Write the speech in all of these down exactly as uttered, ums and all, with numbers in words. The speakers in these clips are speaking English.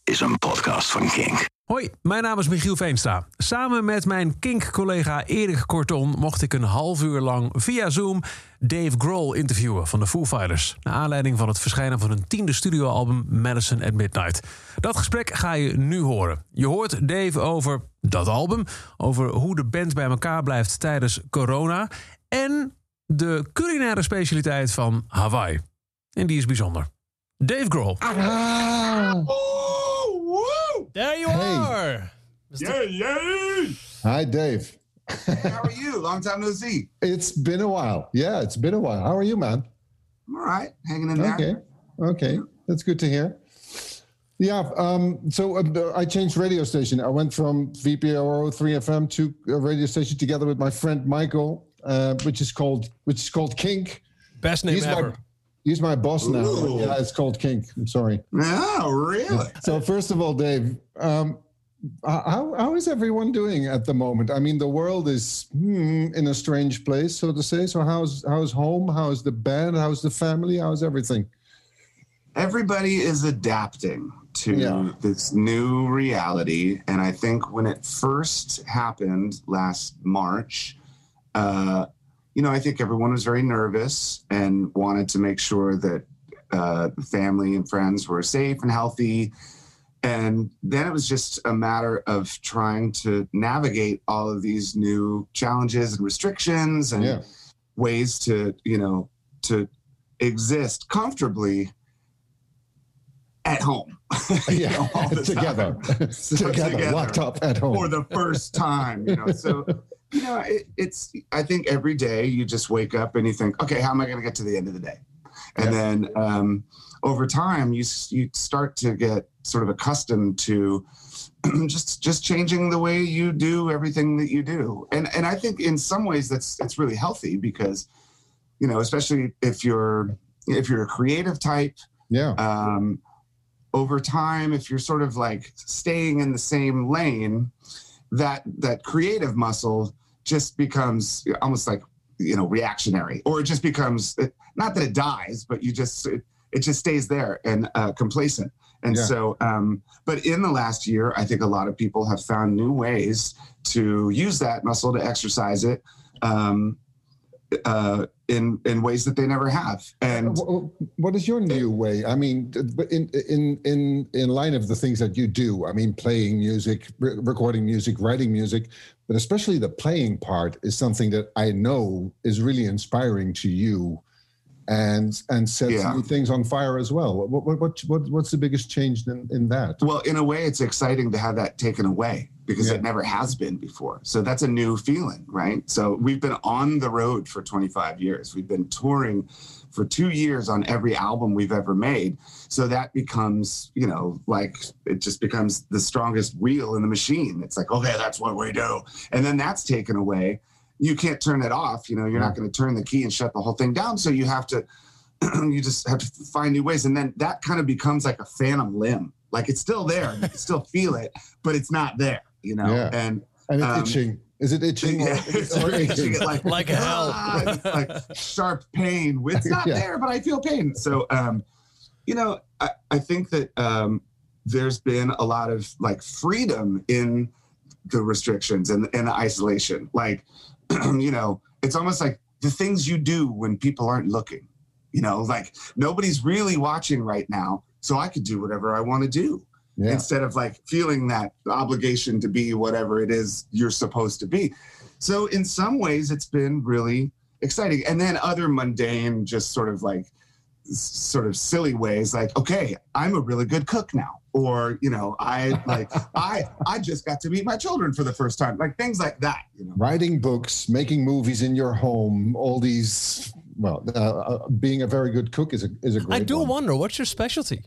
is een podcast van Kink. Hoi, mijn naam is Michiel Veenstra. Samen met mijn Kink-collega Erik Korton mocht ik een half uur lang via Zoom Dave Grohl interviewen van de Foo Fighters. Naar aanleiding van het verschijnen van hun tiende studioalbum Medicine at Midnight. Dat gesprek ga je nu horen. Je hoort Dave over dat album, over hoe de band bij elkaar blijft tijdens corona en de culinaire specialiteit van Hawaii. En die is bijzonder. Dave Grohl. Ah. There you Hey. are. Yay, yay! Hi, Dave. How are you? Long time no see. It's been a while. Yeah, it's been a while. How are you, man? I'm all right. Hanging in there. Okay. Okay. That's good to hear. Yeah. Um, so uh, I changed radio station. I went from V P R O three F M to a radio station together with my friend Michael, uh, which is called which is called Kink. Best name He's ever. my, he's my boss now. Ooh. Yeah, it's called Kink. I'm sorry. Oh, really? So first of all, Dave, um, how how is everyone doing at the moment? I mean, the world is hmm, in a strange place, so to say. So how's how's home? How's the band? How's the family? How's everything? Everybody is adapting to Yeah. this new reality. And I think when it first happened last March, uh, you know, I think everyone was very nervous and wanted to make sure that uh, the family and friends were safe and healthy. And then it was just a matter of trying to navigate all of these new challenges and restrictions and Yeah. ways to, you know, to exist comfortably at home. You Yeah, know, all the together. time. So together, locked up at home. for the first time, you know. So, you know, it, it's, I think every day you just wake up and you think, okay, how am I going to get to the end of the day? And Yeah. then um, over time, you s- you start to get sort of accustomed to just just changing the way you do everything that you do. And and I think in some ways that's it's really healthy because, you know, especially if you're if you're a creative type, Yeah. um, over time, if you're sort of like staying in the same lane, that that creative muscle just becomes almost like, you know, reactionary, or it just becomes, not that it dies, but you just, it, it just stays there and uh, complacent. And Yeah. so, um, but in the last year, I think a lot of people have found new ways to use that muscle, to exercise it um, uh, in in ways that they never have. And Wh- What is your new way? I mean, th- but in in in in line of the things that you do. I mean, playing music, re- recording music, writing music, but especially the playing part is something that I know is really inspiring to you, and and sets Yeah. new things on fire as well. What what what, what what's the biggest change in, in that? Well, in a way, it's exciting to have that taken away because Yeah. it never has been before. So that's a new feeling, right? So we've been on the road for twenty-five years. We've been touring for two years on every album we've ever made. So that becomes, you know, like it just becomes the strongest wheel in the machine. It's like, okay, that's what we do. And then that's taken away. You can't turn it off. You know, you're not going to turn the key and shut the whole thing down. So you have to, you just have to find new ways. And then that kind of becomes like a phantom limb. Like it's still there. You can still feel it, but it's not there, you know? Yeah. And And it's um, itching. Is it itching? yeah, or, it's or itching, aching? like, Like hell. ah, it's like sharp pain. It's not Yeah. there, but I feel pain. So, um, you know, I, I think that um, there's been a lot of like freedom in the restrictions and, and the isolation. Like, you know, it's almost like the things you do when people aren't looking, you know, like nobody's really watching right now. So I could do whatever I want to do. Yeah. Instead of like feeling that obligation to be whatever it is you're supposed to be. So in some ways it's been really exciting. And then other mundane, just sort of like s- sort of silly ways, like, okay, I'm a really good cook now. Or, you know, I like, I, I just got to meet my children for the first time, like things like that, you know? Writing books, making movies in your home, all these. Well, uh, uh, being a very good cook is a is a great. I do one. wonder, what's your specialty?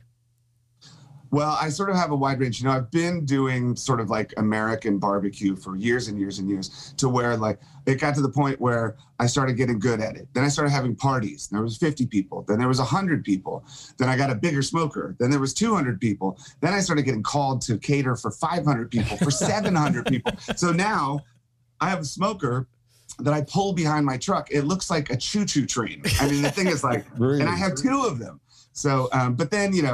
Well, I sort of have a wide range. You know, I've been doing sort of like American barbecue for years and years and years, to where like it got to the point where I started getting good at it. Then I started having parties. There was fifty people. Then there was one hundred people. Then I got a bigger smoker. Then there was two hundred people. Then I started getting called to cater for five hundred people, for seven hundred people. So now I have a smoker that I pull behind my truck. It looks like a choo-choo train. I mean, the thing is like, Really? and I have two of them. So, um, but then, you know,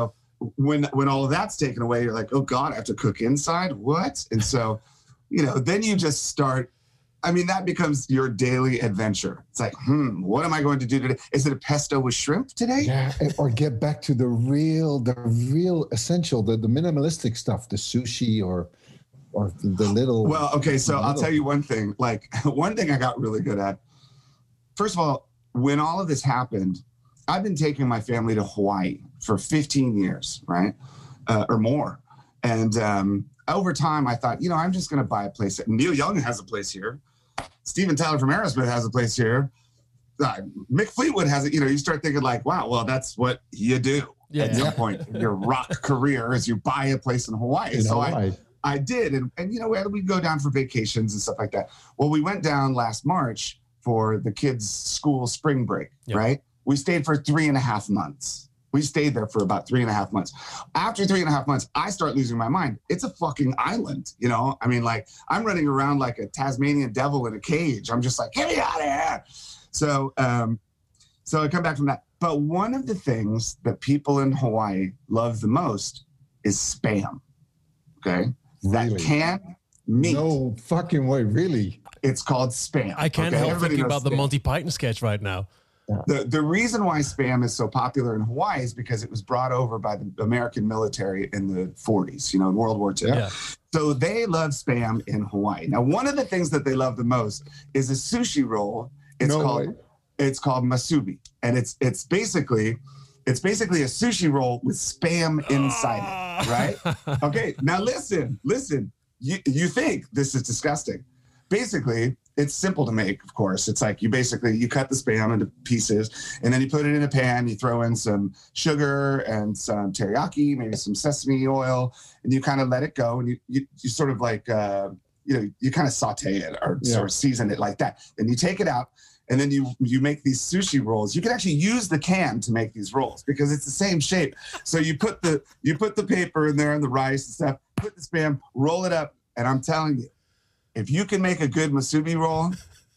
when when all of that's taken away, you're like, oh God, I have to cook inside? What? And so, you know, then you just start, I mean, that becomes your daily adventure. It's like, hmm, what am I going to do today? Is it a pesto with shrimp today? Yeah, or get back to the real, the real essential, the, the minimalistic stuff, the sushi or or the little. Well, okay, so little. I'll tell you one thing. Like, one thing I got really good at, first of all, when all of this happened, I've been taking my family to Hawaii for fifteen years, right? Uh, or more. And um, over time, I thought, you know, I'm just going to buy a place. Neil Young has a place here. Steven Tyler from Aerosmith has a place here. Uh, Mick Fleetwood has it. You know, you start thinking like, wow, well, that's what you do Yeah. at some point in your rock career is you buy a place in Hawaii. In so Hawaii. I, I did. And, and, you know, we'd go down for vacations and stuff like that. Well, we went down last March for the kids' school spring break, Yeah. right? We stayed for three and a half months. We stayed there for about three and a half months. After three and a half months, I start losing my mind. It's a fucking island, you know? I mean, like, I'm running around like a Tasmanian devil in a cage. I'm just like, get me out of here. So, um, so I come back from that. But one of the things that people in Hawaii love the most is Spam, okay? That Really? canned meat. No fucking way, really. It's called Spam. I can't okay? help Everybody thinking knows about the Spam. Monty Python sketch right now. The, the reason why Spam is so popular in Hawaii is because it was brought over by the American military in the forties, you know, in World War Two. Yeah. So they love Spam in Hawaii. Now, one of the things that they love the most is a sushi roll. It's No called way. it's called masubi, and it's it's basically it's basically a sushi roll with Spam inside it, right? Okay, now listen, listen. You you think this is disgusting? Basically, it's simple to make, of course. It's like you basically, you cut the Spam into pieces and then you put it in a pan, you throw in some sugar and some teriyaki, maybe some sesame oil, and you kind of let it go. And you, you, you sort of like, uh, you know, you kind of saute it or Yeah. sort of season it like that. Then you take it out and then you, you make these sushi rolls. You can actually use the can to make these rolls because it's the same shape. So you put the, you put the paper in there and the rice and stuff, put the Spam, roll it up. And I'm telling you, if you can make a good masubi roll,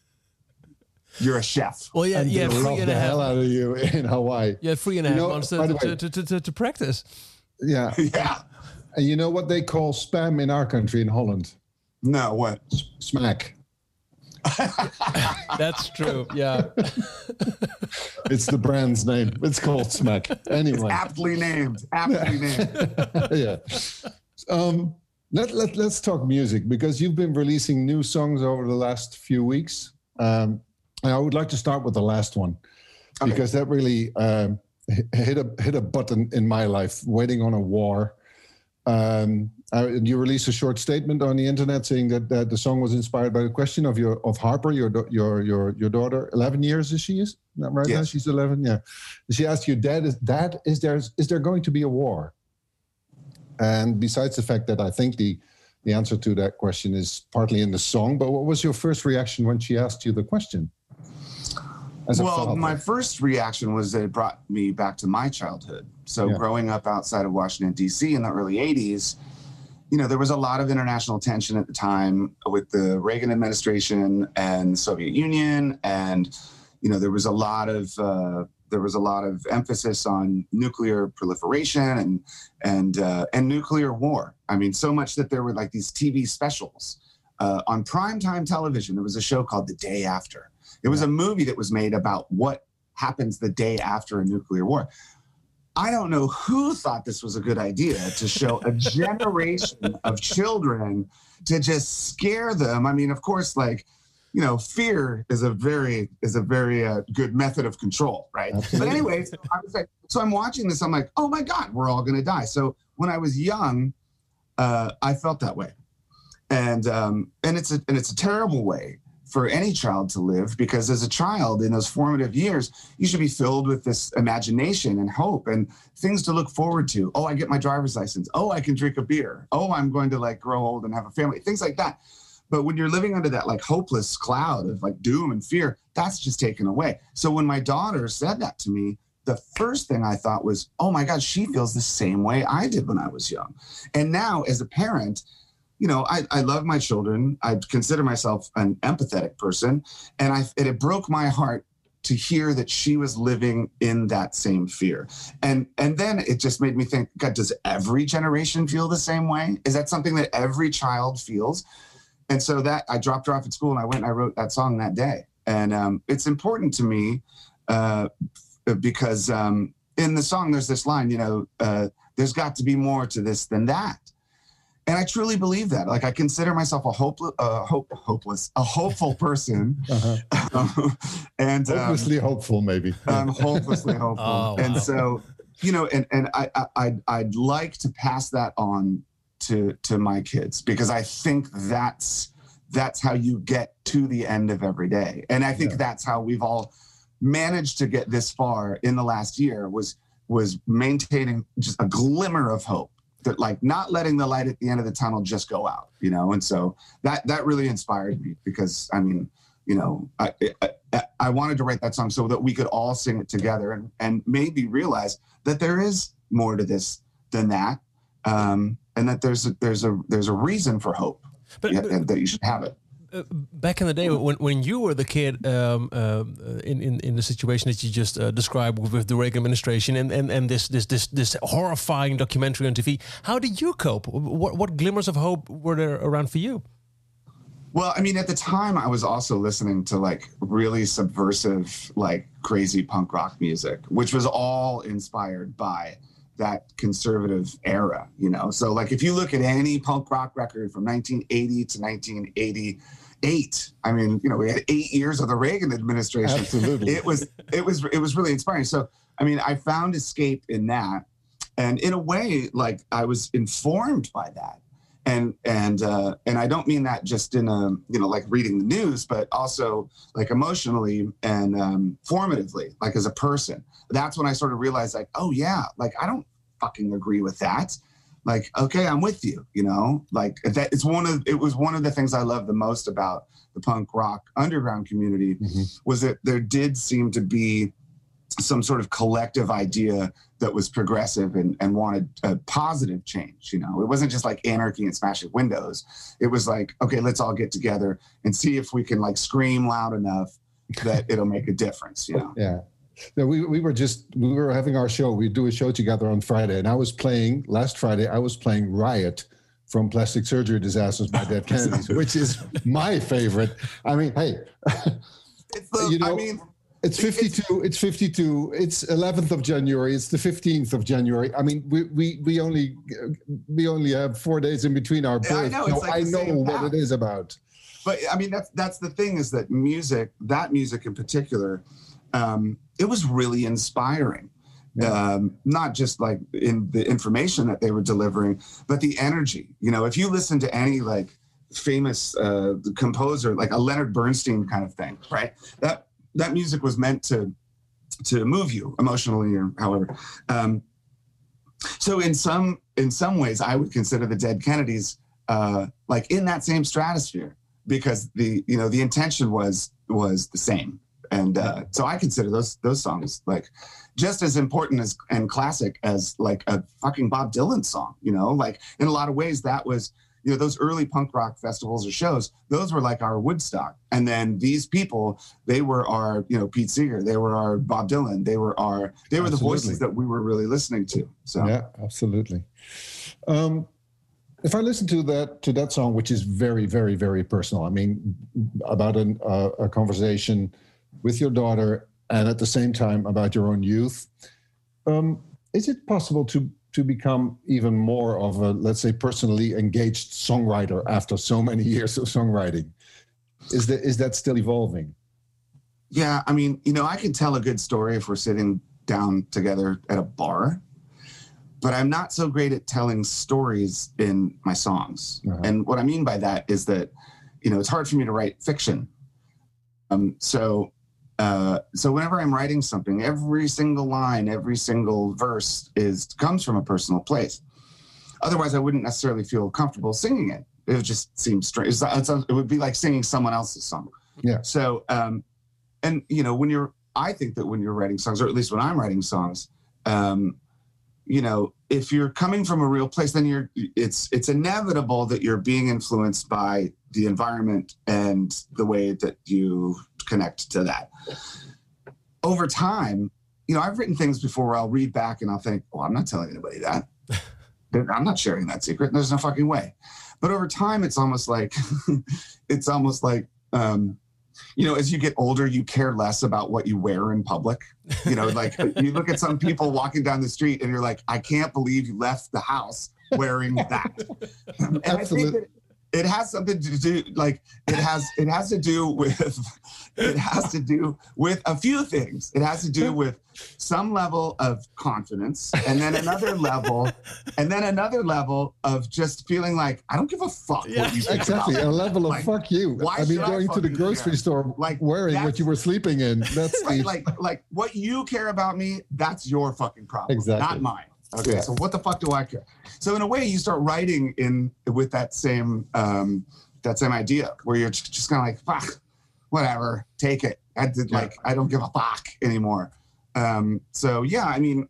you're a chef. Well, yeah, And yeah, they three love and the a hell half. out of you in Hawaii. Yeah, three and a You half know, months by to, the way- to, to, to, to practice. Yeah. Yeah. And you know what they call spam in our country in Holland? No, what? Smack. That's true. Yeah. It's the brand's name. It's called Smack. Anyway. Aptly named. Aptly named. Yeah. Um, let, let, let's talk music because you've been releasing new songs over the last few weeks. Um, and I would like to start with the last one Okay. because that really um, hit a hit a button in my life, Waiting on a War. Um, uh, you released a short statement on the internet saying that, that the song was inspired by the question of your of Harper, your da- your your your daughter. Eleven years is she? Is that right now? Yes. She's eleven. Yeah. She asked you, Dad, is Dad, is there is there going to be a war? And besides the fact that I think the the answer to that question is partly in the song, but what was your first reaction when she asked you the question? As a Well, father? my first reaction was that it brought me back to my childhood. So Yeah. growing up outside of Washington, D C in the early eighties, you know, there was a lot of international tension at the time with the Reagan administration and the Soviet Union. And, you know, there was a lot of uh, there was a lot of emphasis on nuclear proliferation and and uh, and nuclear war. I mean, so much that there were like these T V specials uh, on primetime television. There was a show called The Day After. It was a movie that was made about what happens the day after a nuclear war. I don't know who thought this was a good idea to show a generation of children to just scare them. I mean, of course, like, you know, fear is a very is a very uh, good method of control, right? Absolutely. But anyway, so, I was like, so I'm watching this. I'm like, oh my God, we're all going to die. So when I was young, uh, I felt that way, and um, and it's a and it's a terrible way for any child to live, because as a child in those formative years, you should be filled with this imagination and hope and things to look forward to. Oh, I get my driver's license. Oh, I can drink a beer. Oh, I'm going to like grow old and have a family, things like that. But when you're living under that like hopeless cloud of like doom and fear, that's just taken away. So when my daughter said that to me, the first thing I thought was, oh my God, she feels the same way I did when I was young. And now as a parent, you know, I, I love my children. I consider myself an empathetic person. And I, and it broke my heart to hear that she was living in that same fear. And and then it just made me think, God, does every generation feel the same way? Is that something that every child feels? And so that I dropped her off at school and I went and I wrote that song that day. And um, it's important to me uh, because um, in the song, there's this line, you know, uh, there's got to be more to this than that. And I truly believe that. Like, I consider myself a hopeless, uh, hope, hopeless, a hopeful person, uh-huh. and um, hopelessly hopeful, maybe. I'm hopelessly hopeful, Oh, and wow. so you know, and and I, I I'd, I'd like to pass that on to to my kids, because I think that's that's how you get to the end of every day, and I think yeah. that's how we've all managed to get this far in the last year, was was maintaining just a glimmer of hope. That, like, not letting the light at the end of the tunnel just go out, you know? And so that, that really inspired me, because, I mean, you know, I, I, I wanted to write that song so that we could all sing it together and, and maybe realize that there is more to this than that. Um, and that there's a, there's a, there's a reason for hope, But- yeah, but- and that you should have it. Uh, back in the day, when when you were the kid, um, uh, in, in in the situation that you just uh, described with, with the Reagan administration and, and, and this this this this horrifying documentary on T V, how did you cope? What what glimmers of hope were there around for you? Well, I mean, at the time, I was also listening to like really subversive, like crazy punk rock music, which was all inspired by that conservative era, you know? So like, if you look at any punk rock record from nineteen eighty to nineteen eighty-eight, I mean, you know, we had eight years of the Reagan administration. Absolutely. It was, it was, it was really inspiring. So, I mean, I found escape in that. And in a way, like, I was informed by that. And, and, uh, and I don't mean that just in a, you know, like reading the news, but also like emotionally and um, formatively, like as a person. That's when I sort of realized, like, oh yeah, like, I don't fucking agree with that. Like, okay, I'm with you, you know, like that. It's one of, it was one of the things I love the most about the punk rock underground community, mm-hmm. was that there did seem to be some sort of collective idea that was progressive and, and wanted a positive change. You know, it wasn't just like anarchy and smashing windows. It was like, okay, let's all get together and see if we can like scream loud enough that it'll make a difference, you know? Yeah. No, we, we were just, we were having our show. We do a show together on Friday, and I was playing, last Friday, I was playing Riot from Plastic Surgery Disasters by Dead Kennedys, which is my favorite. I mean, hey, It's the, you know, I mean, it's fifty-two, it's fifty-two, it's eleventh of January, it's the fifteenth of January. I mean, we we, we only we only have four days in between our Yeah, I births, know, it's so like I the know same what path. it is about. But I mean, that's that's the thing, is that music, that music in particular, um, it was really inspiring. Um, not just like in the information that they were delivering, but the energy. You know, if you listen to any like famous uh, composer, like a Leonard Bernstein kind of thing, right? That that music was meant to to move you emotionally or however. Um, so in some in some ways, I would consider the Dead Kennedys uh, like in that same stratosphere, because the you know the intention was was the same. And uh, so I consider those those songs like just as important as and classic as like a fucking Bob Dylan song, you know, like in a lot of ways that was, you know, those early punk rock festivals or shows, those were like our Woodstock. And then these people, they were our, you know, Pete Seeger, they were our Bob Dylan, they were our, they were the Absolutely. voices that we were really listening to. So Yeah, absolutely. Um, if I listen to that to that song, which is very, very, very personal, I mean, about an, uh, a conversation with your daughter, and at the same time about your own youth, um, is it possible to to become even more of a, let's say, personally engaged songwriter after so many years of songwriting? Is that is that still evolving? yeah, I mean, you know, I can tell a good story if we're sitting down together at a bar, but I'm not so great at telling stories in my songs. Uh-huh. And what I mean by that is that, you know, it's hard for me to write fiction. Um, so, uh, so whenever I'm writing something, every single line, every single verse is comes from a personal place. Otherwise, I wouldn't necessarily feel comfortable singing it. It would just seem strange. It's, it's, it would be like singing someone else's song. Yeah. So, um, and you know, when you're, I think that when you're writing songs, or at least when I'm writing songs, um, you know, if you're coming from a real place, then you're, it's, it's inevitable that you're being influenced by the environment and the way that you connect to that. over time, you know, I've written things before where I'll read back and I'll think, well, I'm not telling anybody that. I'm not sharing that secret. There's no fucking way. But over time, it's almost like, it's almost like, um, you know, as you get older, you care less about what you wear in public. You know, like you look at some people walking down the street and you're like, I can't believe you left the house wearing that. And Absolutely. I think that it has something to do, like it has, it has to do with, it has to do with a few things. It has to do with some level of confidence, and then another level, and then another level of just feeling like I don't give a fuck Yeah. what you think Exactly, about a me. level of Like, fuck you. why I mean, should I going to the fucking grocery care? store, Like, wearing what that's- you were sleeping in. That's Right, the, like, like what you care about me, that's your fucking problem, Exactly. not mine. Okay, Yeah. so what the fuck do I care? So in a way, you start writing in with that same um, that same idea, where you're just, just kind of like, fuck, whatever, take it. I did Yeah. like I don't give a fuck anymore. Um, so yeah, I mean,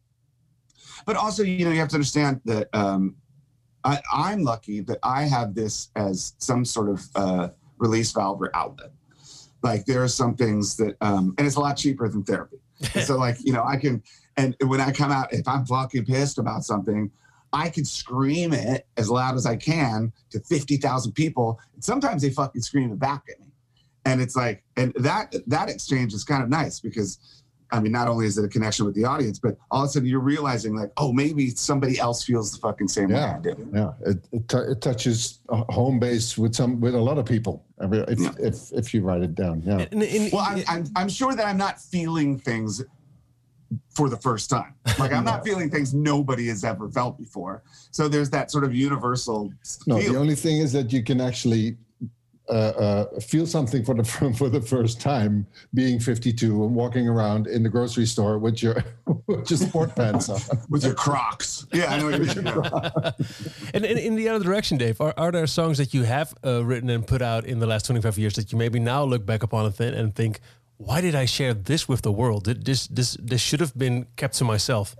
but also you know you have to understand that um, I, I'm lucky that I have this as some sort of uh, release valve or outlet. Like there are some things that, um, and it's a lot cheaper than therapy. So like, you know, I can, and when I come out, if I'm fucking pissed about something, I can scream it as loud as I can to fifty thousand people. And sometimes they fucking scream it back at me. And it's like, and that, that exchange is kind of nice because, I mean, not only is it a connection with the audience, but all of a sudden you're realizing like, oh, maybe somebody else feels the fucking same yeah, way I do. yeah. It it, t- it touches a home base with some with a lot of people. I mean, if Yeah. if if you write it down, yeah. In- in- Well, I'm, I'm, I'm sure that I'm not feeling things for the first time. Like I'm not feeling things nobody has ever felt before. So there's that sort of universal No, feel. the only thing is that you can actually uh, uh, feel something for the for the first time, being fifty-two and walking around in the grocery store with your with your sport pants on. with your Crocs. Yeah, I know what you mean. Yeah. And in, in the other direction, Dave, are, are there songs that you have uh, written and put out in the last twenty-five years that you maybe now look back upon and, th- and think, why did I share this with the world? Did This this this should have been kept to myself.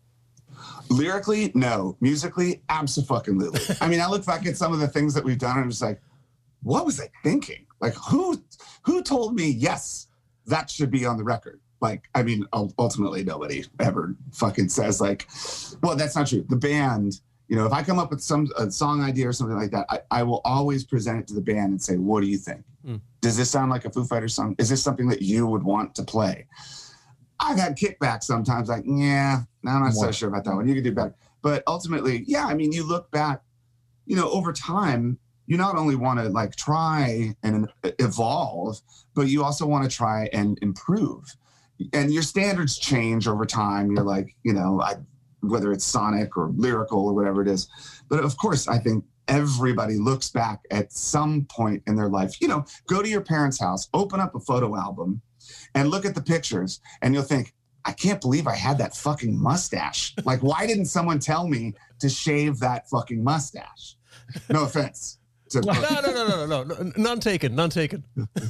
Lyrically, no. Musically, abso-fucking-lutely. I mean, I look back at some of the things that we've done and I'm just like, what was I thinking? Like, who who told me, yes, that should be on the record? Like, I mean, ul- ultimately, nobody ever fucking says, like, well, that's not true. The band, you know, if I come up with some a song idea or something like that, I, I will always present it to the band and say, what do you think? Mm. Does this sound like a Foo Fighters song? Is this something that you would want to play? I've had kickback sometimes, like, yeah, no, I'm not so What? sure about that one. You could do better. But ultimately, yeah, I mean, you look back, you know, over time, you not only want to like try and evolve, but you also want to try and improve. And your standards change over time. You're like, you know, I, whether it's sonic or lyrical or whatever it is. But of course, I think everybody looks back at some point in their life. You know, go to your parents' house, open up a photo album, and look at the pictures, and you'll think, I can't believe I had that fucking mustache. Like, why didn't someone tell me to shave that fucking mustache? No offense. To, No, no, no, no, no, no, no, none taken, none taken.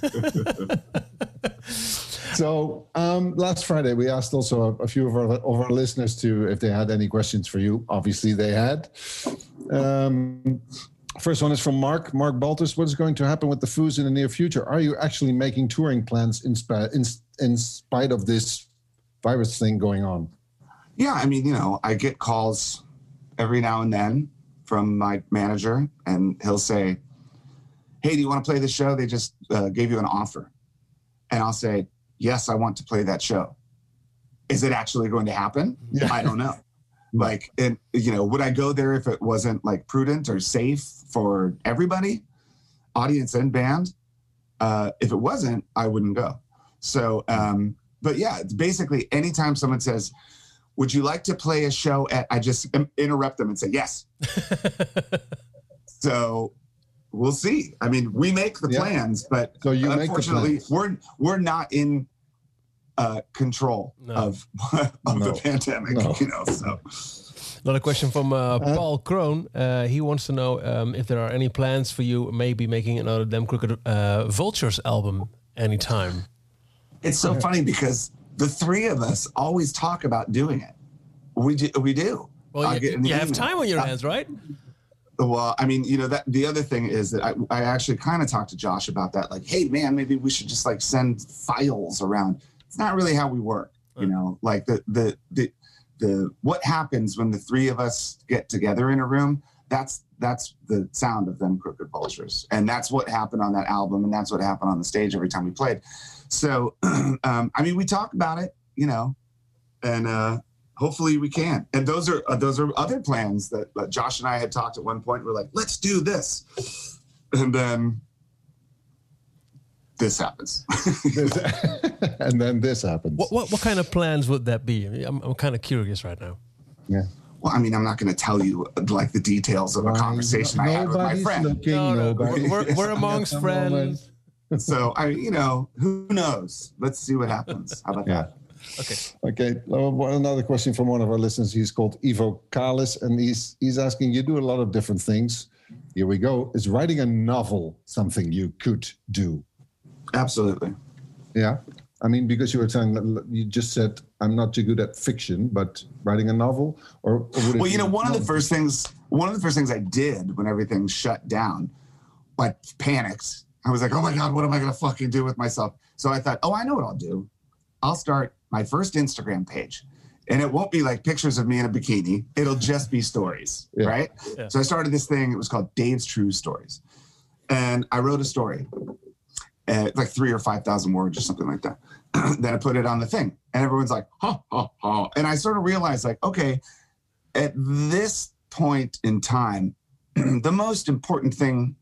So um, last Friday, we asked also a, a few of our, of our listeners to if they had any questions for you. Obviously, they had. Um, first one is from Mark. Mark Baltus. What is going to happen with the Foos in the near future? Are you actually making touring plans in, sp- in, in spite of this virus thing going on? Yeah, I mean, you know, I get calls every now and then from my manager, and he'll say, hey, do you want to play the show? They just uh, gave you an offer. And I'll say, yes, I want to play that show. Is it actually going to happen? Yeah. I don't know. Like, and you know, would I go there if it wasn't like prudent or safe for everybody, audience and band? Uh, if it wasn't, I wouldn't go. So, um, but yeah, it's basically anytime someone says, would you like to play a show at, I just interrupt them and say, yes. So we'll see. I mean, we make the Yeah. plans, but So you make the unfortunately, plans. we're we're not in uh, control No. of of No. the pandemic. No. You know, so Another question from uh, Paul Kroon. Uh, he wants to know um, if there are any plans for you maybe making another Damn Crooked uh, Vultures album anytime. it's so funny because the three of us always talk about doing it. We do. We do. Well, I'll you, get an you have email. time on your Uh, hands, right? Well, I mean, you know, that the other thing is that I, I actually kind of talked to Josh about that. Like, hey, man, maybe we should just like send files around it's not really how we work. You know, like the the the the what happens when the three of us get together in a room. That's that's the sound of Them Crooked Vultures, and that's what happened on that album, and that's what happened on the stage every time we played. So, um, I mean, we talk about it, you know, and uh, hopefully we can. And those are uh, those are other plans that uh, Josh and I had talked at one point. We're like, let's do this, and then this happens. And then this happens. What, what what kind of plans would that be? I mean, I'm I'm kind of curious right now. Yeah. Well, I mean, I'm not going to tell you like the details of a conversation I had with my friend. Looking, No, no, nobody- we're, we're amongst friends. So I, you know, who knows? Let's see what happens. How about Yeah. that? Okay. Okay. uh, one- Another question from one of our listeners. He's called Ivo Kalis, and he's he's asking, you do a lot of different things. Here we go. Is writing a novel something you could do? Absolutely. Yeah. I mean, because you were saying, you just said, I'm not too good at fiction, but writing a novel, or, or would it Well, you know, be one of the novel? first things, one of the first things I did when everything shut down, I panicked. I was like, oh my God, what am I going to fucking do with myself? So I thought, oh, I know what I'll do. I'll start my first Instagram page, and it won't be like pictures of me in a bikini. It'll just be stories, Yeah. right? Yeah. So I started this thing. It was called Dave's True Stories. And I wrote a story, uh, like three or five thousand words or something like that. Then I put it on the thing, and everyone's like, ha, ha, ha. And I sort of realized, like, okay, at this point in time, the most important thing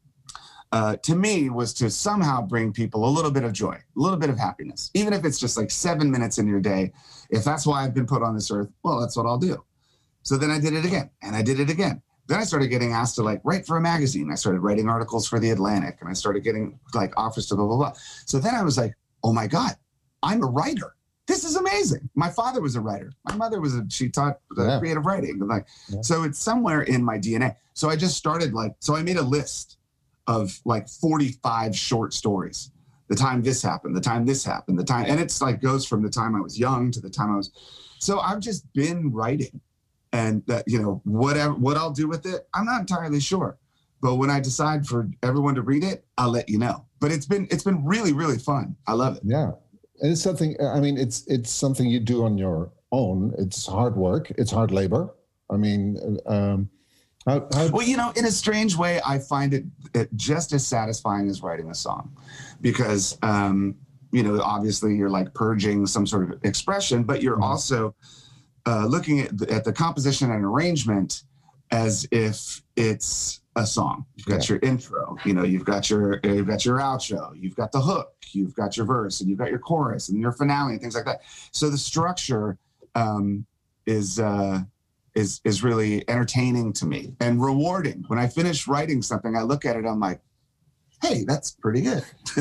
uh, to me was to somehow bring people a little bit of joy, a little bit of happiness, even if it's just like seven minutes in your day. If that's why I've been put on this earth, well, that's what I'll do. So then I did it again, and I did it again. Then I started getting asked to like write for a magazine. I started writing articles for The Atlantic, and I started getting like offers to blah, blah, blah. So then I was like, oh my God, I'm a writer. This is amazing. My father was a writer. My mother was a, she taught uh, Yeah. creative writing. And like, Yeah. so it's somewhere in my D N A. So I just started like, so I made a list of like forty-five short stories. The time this happened, the time this happened, the time, and it's like goes from the time I was young to the time I was, so I've just been writing. And that, you know, whatever, what I'll do with it, I'm not entirely sure. But when I decide for everyone to read it, I'll let you know. But it's been, it's been really, really fun. I love it. Yeah. And it's something, I mean, it's it's something you do on your own. It's hard work. It's hard labor. I mean, um, how, how, Well, you know, in a strange way, I find it, it just as satisfying as writing a song, because, um, you know, obviously you're like purging some sort of expression, but you're Mhm. also uh, looking at the, at the composition and arrangement as if it's a song. You've got Yeah. your intro, you know, you've got your you've got your outro, you've got the hook, you've got your verse, and you've got your chorus and your finale and things like that. So the structure um, is uh, is is really entertaining to me and rewarding. When I finish writing something, I look at it, I'm like, hey, that's pretty good.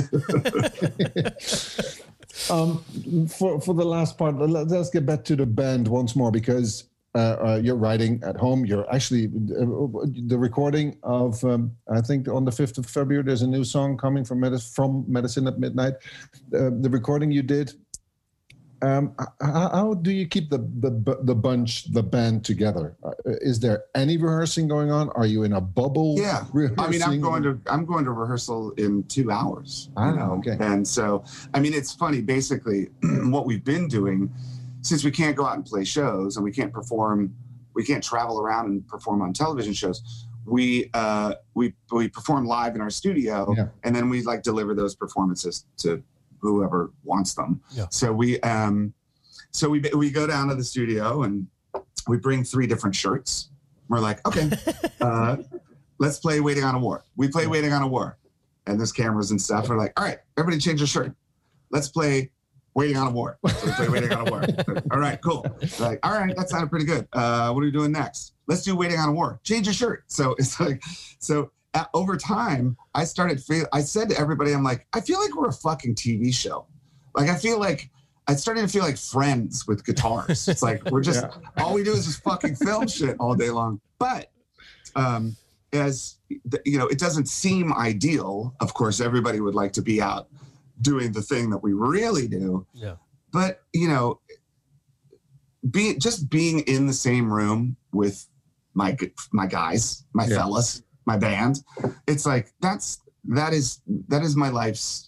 um, for for the last part, let- let's get back to the band once more, because uh, uh, you're writing at home. You're actually uh, the recording of um, I think on the fifth of February. There's a new song coming from Medicine, from Medicine at Midnight. Uh, the recording you did. Um, how, how do you keep the, the the bunch, the band together? Uh, is there any rehearsing going on? Are you in a bubble? Yeah, I mean, I'm going to I'm going to rehearsal in two hours. Ah, you know? okay. And so, I mean, it's funny. Basically, what we've been doing, since we can't go out and play shows and we can't perform, we can't travel around and perform on television shows. We uh, we we perform live in our studio, Yeah. and then we like deliver those performances to whoever wants them. Yeah. So we um, so we we go down to the studio and we bring three different shirts. We're like, okay, uh, let's play Waiting on a War. We play Waiting on a War, and there's cameras and stuff. We're like, all right, everybody change your shirt. Let's play Waiting on a War. So we play Waiting on a War. All right, cool. We're like, all right, that sounded pretty good. Uh, what are we doing next? Let's do Waiting on a War. Change your shirt. So it's like, so at, over time, I started feel. I said to everybody, I'm like, I feel like we're a fucking T V show. Like I feel like I started to feel like Friends with guitars. It's like we're just Yeah. all we do is just fucking film shit all day long. But um, as you know, it doesn't seem ideal. Of course, everybody would like to be out doing the thing that we really do. Yeah. But you know, be just being in the same room with my my guys, my Yeah. fellas, my band, it's like that's that is that is my life's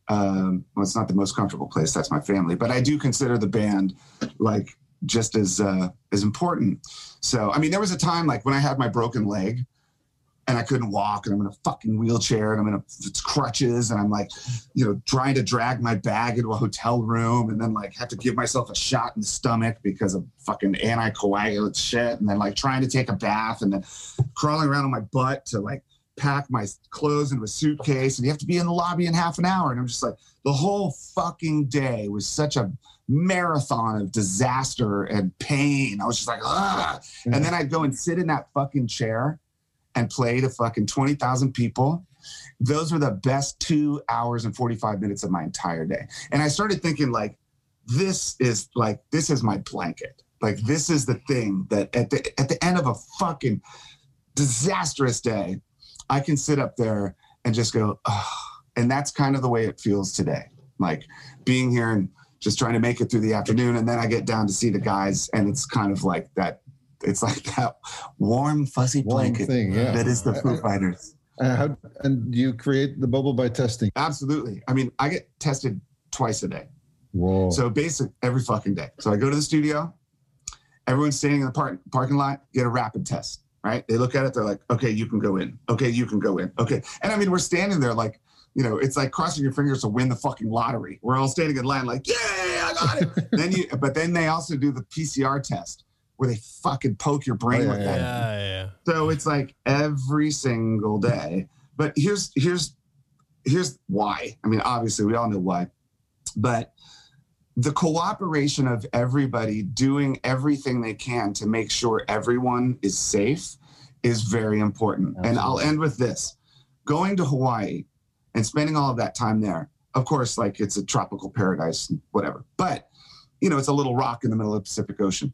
Um, well, it's not the most comfortable place. That's my family, but I do consider the band like just as uh, as important. So, I mean, there was a time like when I had my broken leg and I couldn't walk and I'm in a fucking wheelchair and I'm in a, it's crutches and I'm like, you know, trying to drag my bag into a hotel room and then like have to give myself a shot in the stomach because of fucking anticoagulant shit. And then like trying to take a bath and then crawling around on my butt to like pack my clothes into a suitcase and you have to be in the lobby in half an hour. And I'm just like, the whole fucking day was such a marathon of disaster and pain. I was just like, ah. Mm-hmm. And then I'd go and sit in that fucking chair and play to fucking twenty thousand people. Those were the best two hours and forty-five minutes of my entire day. And I started thinking like, this is like, this is my blanket. Like, this is the thing that at the, at the end of a fucking disastrous day, I can sit up there and just go, oh. And that's kind of the way it feels today. Like being here and just trying to make it through the afternoon. And then I get down to see the guys and it's kind of like that. It's like that warm, fuzzy Warm blanket thing, yeah. that is the Foo Fighters. Uh, how, and you create the bubble by testing? Absolutely. I mean, I get tested twice a day. Whoa. So basic every fucking day. So I go to the studio, everyone's standing in the park, parking lot, get a rapid test, right? They look at it, they're like, okay, you can go in. Okay, you can go in. Okay. And I mean, we're standing there like, you know, it's like crossing your fingers to win the fucking lottery. We're all standing in line like, yeah, I got it. then you, but then they also do the P C R test where they fucking poke your brain oh, yeah, with yeah, that. Yeah, yeah. So it's like every single day. But here's here's here's why. I mean, obviously we all know why. But the cooperation of everybody doing everything they can to make sure everyone is safe is very important. Absolutely. And I'll end with this. Going to Hawaii and spending all of that time there, of course, like it's a tropical paradise, whatever. But, you know, it's a little rock in the middle of the Pacific Ocean.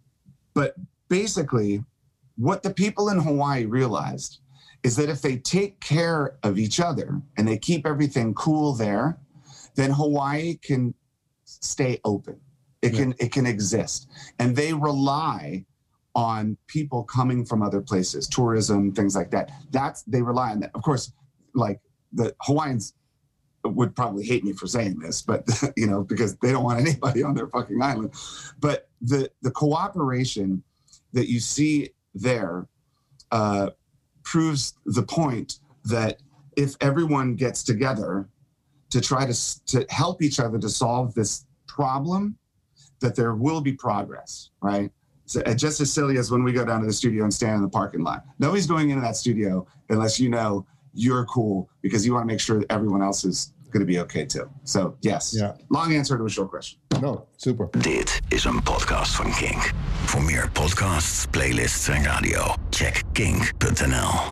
But basically, what the people in Hawaii realized is that if they take care of each other and they keep everything cool there, then Hawaii can stay open. It yeah. can it can exist. And they rely on people coming from other places, tourism, things like that. That's they rely on that. Of course, like the Hawaiians would probably hate me for saying this, but you know, because they don't want anybody on their fucking island. But the the cooperation that you see there uh, proves the point that if everyone gets together to try to to help each other to solve this problem, that there will be progress, right? So uh, just as silly as when we go down to the studio and stand in the parking lot. Nobody's going into that studio unless you know you're cool because you want to make sure that everyone else is going to be okay too. So yes, yeah. Long answer to a short question. No, super. Dit is een podcast van Kink. Voor meer podcasts, playlists en radio, check kink punt n l.